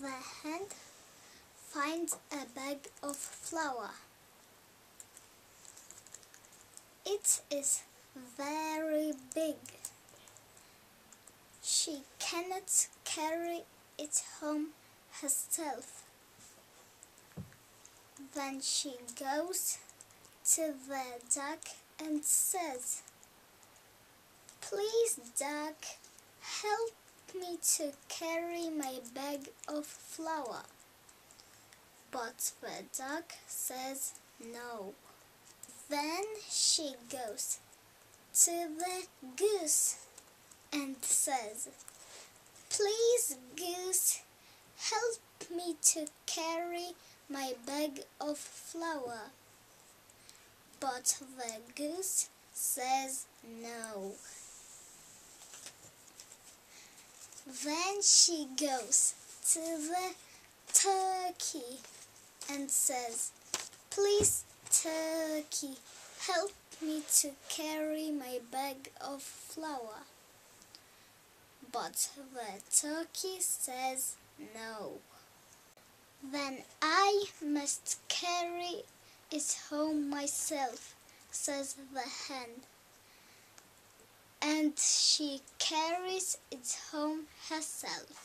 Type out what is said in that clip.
The hen finds a bag of flour. It is very big. She cannot carry it home herself. Then she goes to the duck and says, "Please, duck, help me to carry my bag of flour." But the duck says no. Then she goes to the goose and says, "Please, goose, help me to carry my bag of flour." But the goose says no. Then she goes to the turkey and says, "Please, turkey, help me to carry my bag of flour." But the turkey says no. "Then I must carry it home myself," says the hen. And she carries it home herself.